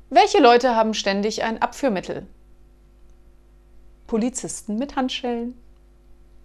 Welche Leute haben ständig ein Abführmittel? Polizisten mit Handschellen.